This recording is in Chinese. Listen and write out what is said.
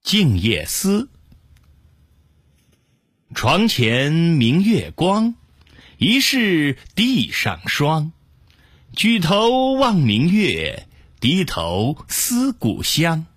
静夜思。床前明月光，疑是地上霜。举头望明月，低头思故乡。